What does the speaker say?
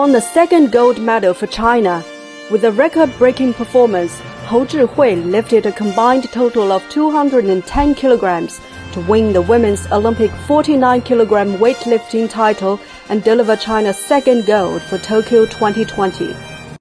won the second gold medal for China. With a record-breaking performance, Hou Zhihui lifted a combined total of 210 kilograms to win the women's Olympic 49-kilogram weightlifting title and deliver China's second gold for Tokyo 2020.